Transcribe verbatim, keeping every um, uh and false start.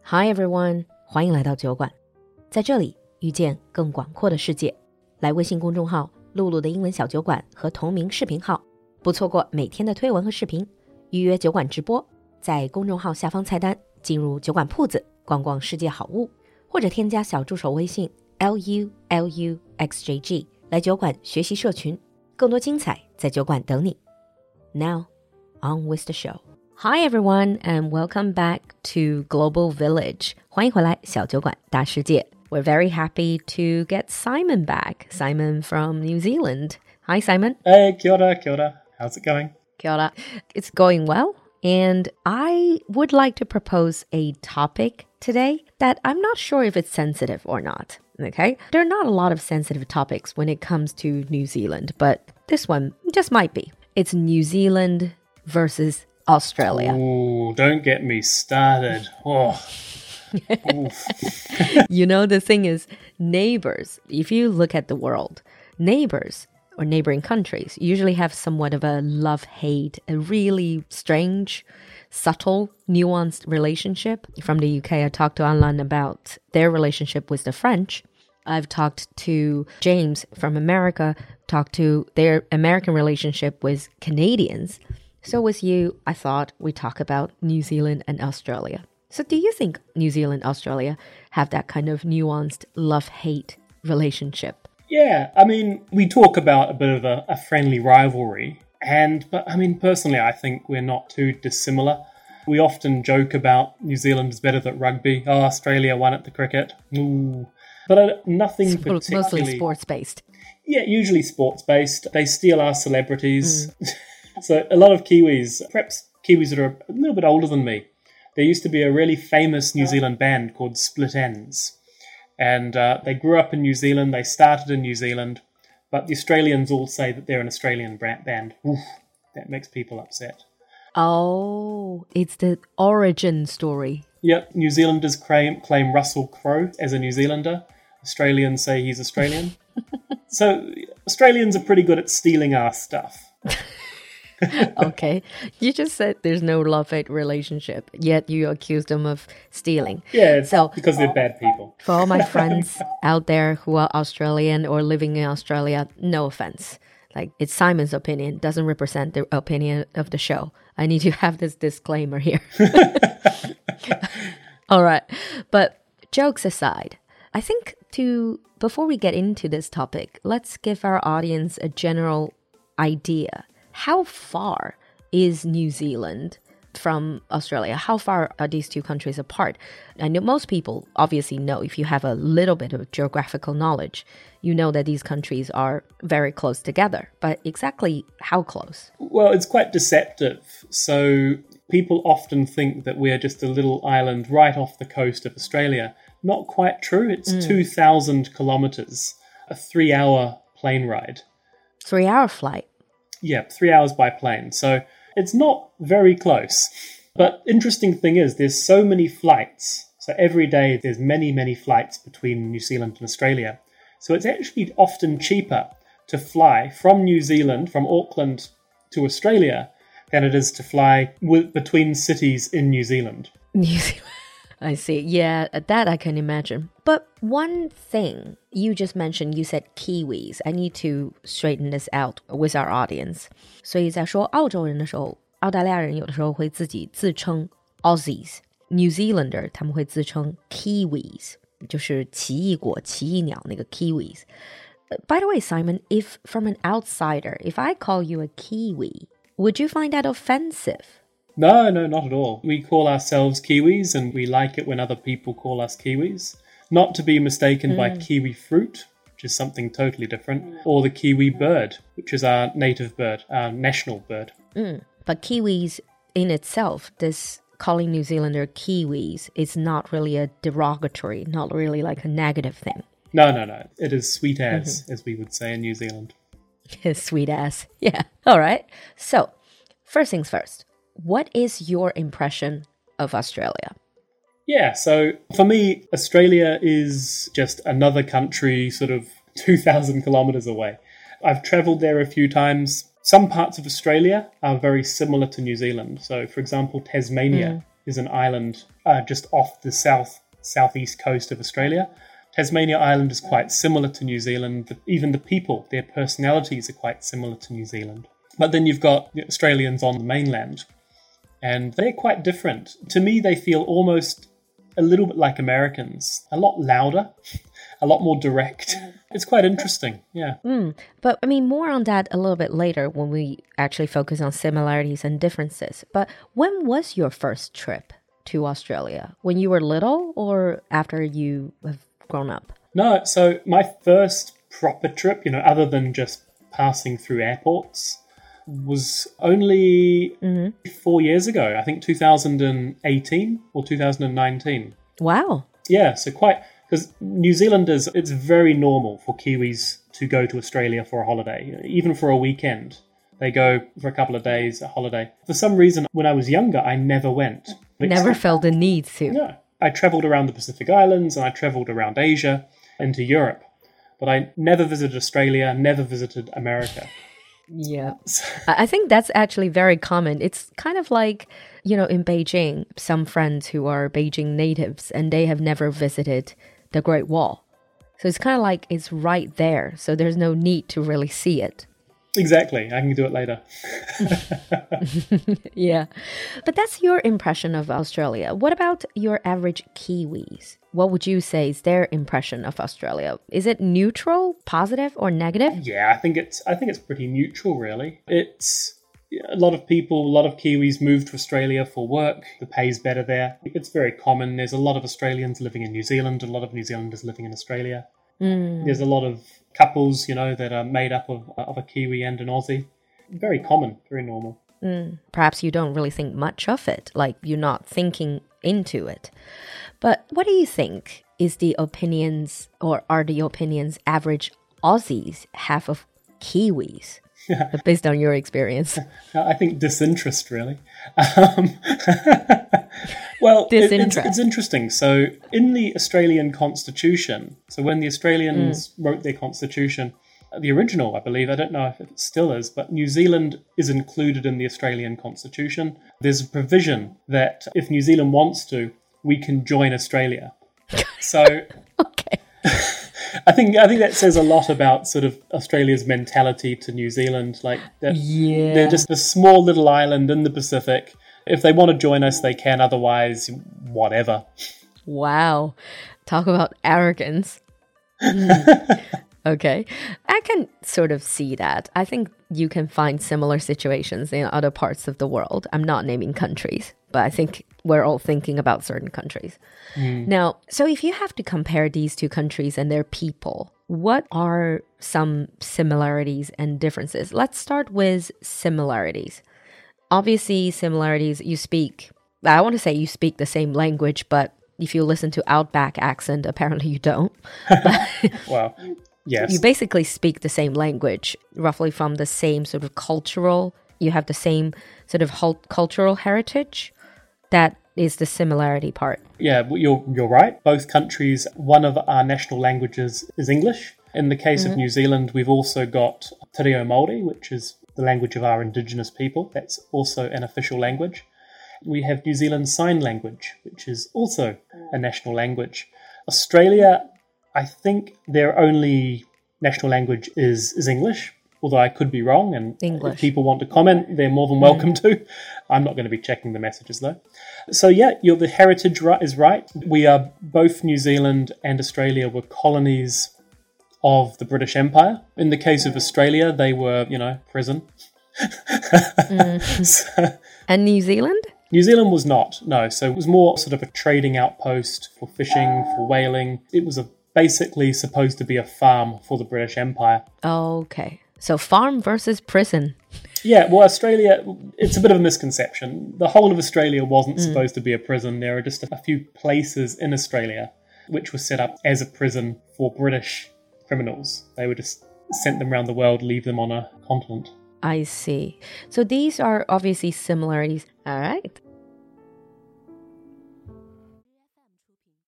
Hi everyone， 欢迎来到酒馆，在这里遇见更广阔的世界。来微信公众号露露的英文小酒馆和同名视频号，不错过每天的推文和视频，预约酒馆直播，在公众号下方菜单进入酒馆铺子，逛逛世界好物，或者添加小助手微信 L U L U X J G 来酒馆学习社群，更多精彩在酒馆等你。Now, on with the show.Hi everyone and welcome back to Global Village. 欢迎回来小酒馆大世界。We're very happy to get Simon back. Simon from New Zealand. Hi Simon. Hey, kia ora, kia ora. How's it going? Kia ora. It's going well. And I would like to propose a topic today that I'm not sure if it's sensitive or not. Okay? There are not a lot of sensitive topics when it comes to New Zealand, but this one just might be. It's New Zealand versus Australia. Oh, don't get me started. Oh. You know, the thing is, neighbors, if you look at the world, neighbors or neighboring countries usually have somewhat of a love-hate, a really strange, subtle, nuanced relationship. From the U K, I talked to Anlan about their relationship with the French. I've talked to James from America, talked to their American relationship with Canadians.So with you, I thought we'd talk about New Zealand and Australia. So do you think New Zealand and Australia have that kind of nuanced love-hate relationship? Yeah, I mean, we talk about a bit of a, a friendly rivalry. And, but I mean, personally, I think we're not too dissimilar. We often joke about New Zealand is better at rugby. Oh, Australia won at the cricket. Ooh. But uh, nothing It's particularly... Mostly sports-based. Yeah, usually sports-based. They steal our celebrities. Mm. So a lot of Kiwis, perhaps Kiwis that are a little bit older than me, there used to be a really famous New Zealand band called Split Enz. And uh, they grew up in New Zealand, they started in New Zealand, but the Australians all say that they're an Australian band. Oof, that makes people upset. Oh, it's the origin story. Yep, New Zealanders claim, claim Russell Crowe as a New Zealander. Australians say he's Australian. So Australians are pretty good at stealing our stuff. Okay, you just said there's no love-hate relationship, yet you accused them of stealing. Yeah, it's so, because they're bad people. For all my friends out there who are Australian or living in Australia, no offense. Like, it's Simon's opinion, doesn't represent the opinion of the show. I need to have this disclaimer here. All right, but jokes aside, I think to before we get into this topic, let's give our audience a general idea.How far is New Zealand from Australia? How far are these two countries apart? I know most people obviously know, if you have a little bit of geographical knowledge, you know that these countries are very close together. But exactly how close? Well, it's quite deceptive. So people often think that we're just a little island right off the coast of Australia. Not quite true. It's mm. two thousand kilometres, a three-hour plane ride. Three-hour flight?Yeah, three hours by plane. So it's not very close. But interesting thing is there's so many flights. So every day there's many, many flights between New Zealand and Australia. So it's actually often cheaper to fly from New Zealand, from Auckland to Australia, than it is to fly with, between cities in New Zealand. New Zealand.I see. Yeah, that I can imagine. But one thing you just mentioned, you said Kiwis. I need to straighten this out with our audience. 所以在说澳洲人的时候，澳大利亚人有的时候会自己自称 Aussies。New Zealander 他们会自称 Kiwis， 就是奇异果、奇异鸟那个 Kiwis。By the way, Simon, if from an outsider, if I call you a Kiwi, would you find that offensive?No, no, not at all. We call ourselves Kiwis and we like it when other people call us Kiwis. Not to be mistaken mm. by kiwi fruit, which is something totally different, or the kiwi bird, which is our native bird, our national bird. Mm. But Kiwis in itself, this calling New Zealander Kiwis is not really a derogatory, not really like a negative thing. No, no, no. It is sweet as, mm-hmm. as we would say in New Zealand. Sweet as. Yeah. All right. So, first things first.What is your impression of Australia? Yeah, so for me, Australia is just another country sort of two thousand kilometres away. I've travelled there a few times. Some parts of Australia are very similar to New Zealand. So, for example, Tasmania mm. is an island uh, just off the south southeast coast of Australia. Tasmania Island is quite similar to New Zealand. Even the people, their personalities are quite similar to New Zealand. But then you've got the Australians on the mainland, and they're quite different. To me, they feel almost a little bit like Americans, a lot louder, a lot more direct. It's quite interesting, yeah. Mm, but I mean, more on that a little bit later when we actually focus on similarities and differences. But when was your first trip to Australia? When you were little or after you have grown up? No, so my first proper trip, you know, other than just passing through airports, was only mm-hmm. four years ago. I think two thousand eighteen or two thousand nineteen. Wow. Yeah, so quite, because New Zealanders, it's very normal for Kiwis to go to Australia for a holiday, even for a weekend. They go for a couple of days, a holiday. For some reason, when I was younger, I never went. Never felt the need to. No. I travelled around the Pacific Islands and I travelled around Asia into Europe. But I never visited Australia, never visited America. Yeah. I think that's actually very common. It's kind of like, you know, in Beijing, some friends who are Beijing natives and they have never visited the Great Wall. So it's kind of like it's right there. So there's no need to really see it. Exactly. I can do it later. Yeah. But that's your impression of Australia. What about your average Kiwis? What would you say is their impression of Australia? Is it neutral, positive, or negative? Yeah, I think it's I think it's pretty neutral, really. It's a lot of people, a lot of Kiwis move to Australia for work. The pay's better there. It's very common. There's a lot of Australians living in New Zealand, a lot of New Zealanders living in Australia. Mm. There's a lot of couples, you know, that are made up of, of a Kiwi and an Aussie. Very common, very normal. Mm. Perhaps you don't really think much of it, like you're not thinking into it. But what do you think is the opinions, or are the opinions average Aussies have of Kiwis? Based on your experience. I think disinterest, really. Um, well, disinterest. It, it's, it's interesting. So in the Australian Constitution, so when the Australians mm. wrote their Constitution, the original, I believe, I don't know if it still is, but New Zealand is included in the Australian Constitution. There's a provision that if New Zealand wants to, we can join Australia. So... okay. I think I think that says a lot about sort of Australia's mentality to New Zealand. Like that, yeah. They're just a small little island in the Pacific. If they want to join us, they can. Otherwise, whatever. Wow. Talk about arrogance. Mm. Okay. I can sort of see that. I think you can find similar situations in other parts of the world. I'm not naming countries, but I think we're all thinking about certain countries. Mm. Now, so if you have to compare these two countries and their people, what are some similarities and differences? Let's start with similarities. Obviously, similarities, you speak, I want to say you speak the same language, but if you listen to Outback accent, apparently you don't. Wow. Yes. You basically speak the same language, roughly from the same sort of cultural, you have the same sort of cultural heritage. That is the similarity part. Yeah, you're you're right. Both countries, one of our national languages is English. In the case mm-hmm. of New Zealand, we've also got Te Reo Māori, which is the language of our indigenous people. That's also an official language. We have New Zealand Sign Language, which is also a national language. Australia, I think their only national language is, is English, although I could be wrong, and English. If people want to comment, they're more than welcome mm. to. I'm not going to be checking the messages, though. So, yeah, you're, the heritage right, is right. We are, both New Zealand and Australia were colonies of the British Empire. In the case of Australia, they were, you know, prison. mm. so, and New Zealand? New Zealand was not, no. So it was more sort of a trading outpost for fishing, for whaling. It was a, basically supposed to be a farm for the British Empire. Okay. So farm versus prison. Yeah, well, Australia, it's a bit of a misconception. The whole of Australia wasn't mm. supposed to be a prison. There are just a few places in Australia which were set up as a prison for British criminals. They would just sent them around the world, leave them on a continent. I see. So these are obviously similarities. All right.